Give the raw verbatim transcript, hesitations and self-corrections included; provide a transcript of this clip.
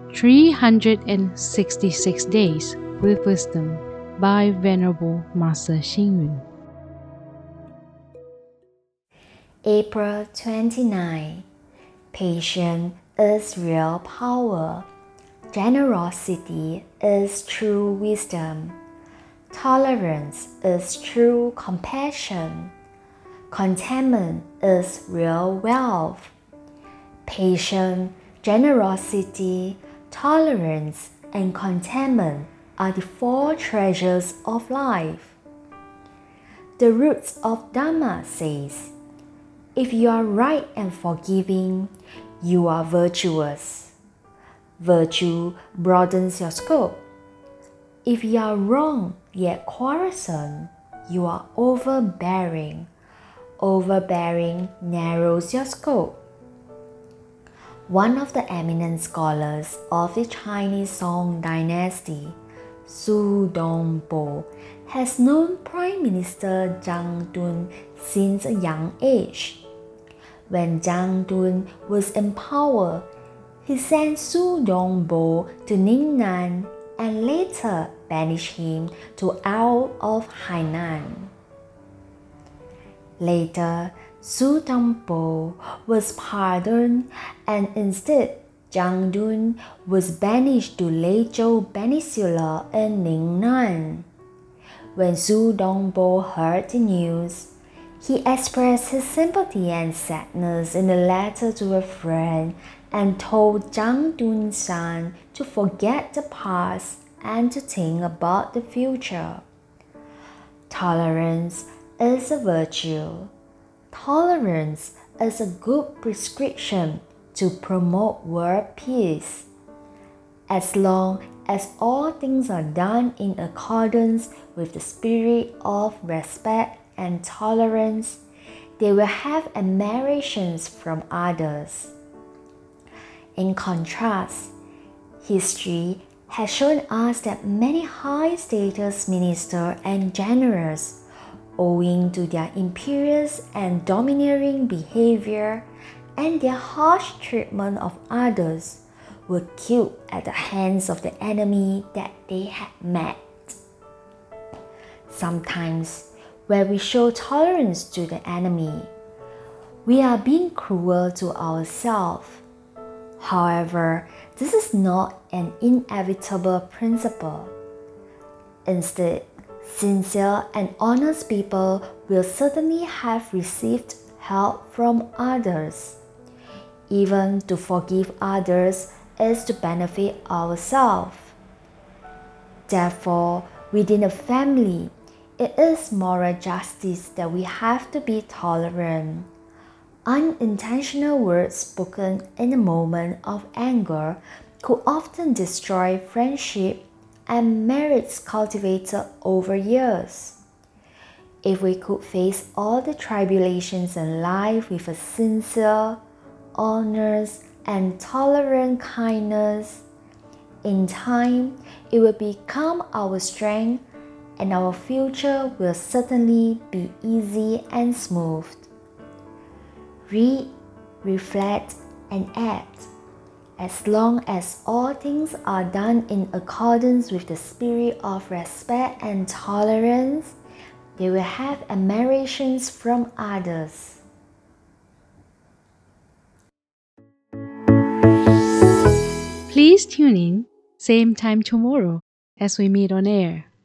three hundred sixty-six Days with Wisdom by Venerable Master Xing Yun. April twenty-ninth. Patience is real power. Generosity is true wisdom. Tolerance is true compassion. Contentment is real wealth. Patience, generosity, tolerance, and contentment are the four treasures of life. The Roots of Dharma says, if you are right and forgiving, you are virtuous. Virtue broadens your scope. If you are wrong yet quarrelsome, you are overbearing. Overbearing narrows your scope. One of the eminent scholars of the Chinese Song dynasty, Su Dongpo, has known Prime Minister Zhang Dun since a young age. When Zhang Dun was in power, he sent Su Dongpo to Ningnan and later banished him to Ao of Hainan. Later, Su Dongpo was pardoned and instead Zhang Dun was banished to Leizhou Peninsula in Ningnan. When Su Dongpo heard the news, he expressed his sympathy and sadness in a letter to a friend and told Zhang Dun's son to forget the past and to think about the future. Tolerance is a virtue. Tolerance is a good prescription to promote world peace. As long as all things are done in accordance with the spirit of respect and tolerance, they will have admirations from others. In contrast, history has shown us that many high-status ministers and generals, owing to their imperious and domineering behavior and their harsh treatment of others, were killed at the hands of the enemy that they had met. Sometimes, where we show tolerance to the enemy, we are being cruel to ourselves. However, this is not an inevitable principle. Instead, sincere and honest people will certainly have received help from others. Even to forgive others is to benefit ourselves. Therefore, within a family, it is moral justice that we have to be tolerant. Unintentional words spoken in a moment of anger could often destroy friendship and marriage cultivated over years. If we could face all the tribulations in life with a sincere, honest, and tolerant kindness, in time it will become our strength and our future will certainly be easy and smooth. Read, reflect, and act. As long as all things are done in accordance with the spirit of respect and tolerance, they will have admirations from others. Please tune in, same time tomorrow as we meet on air.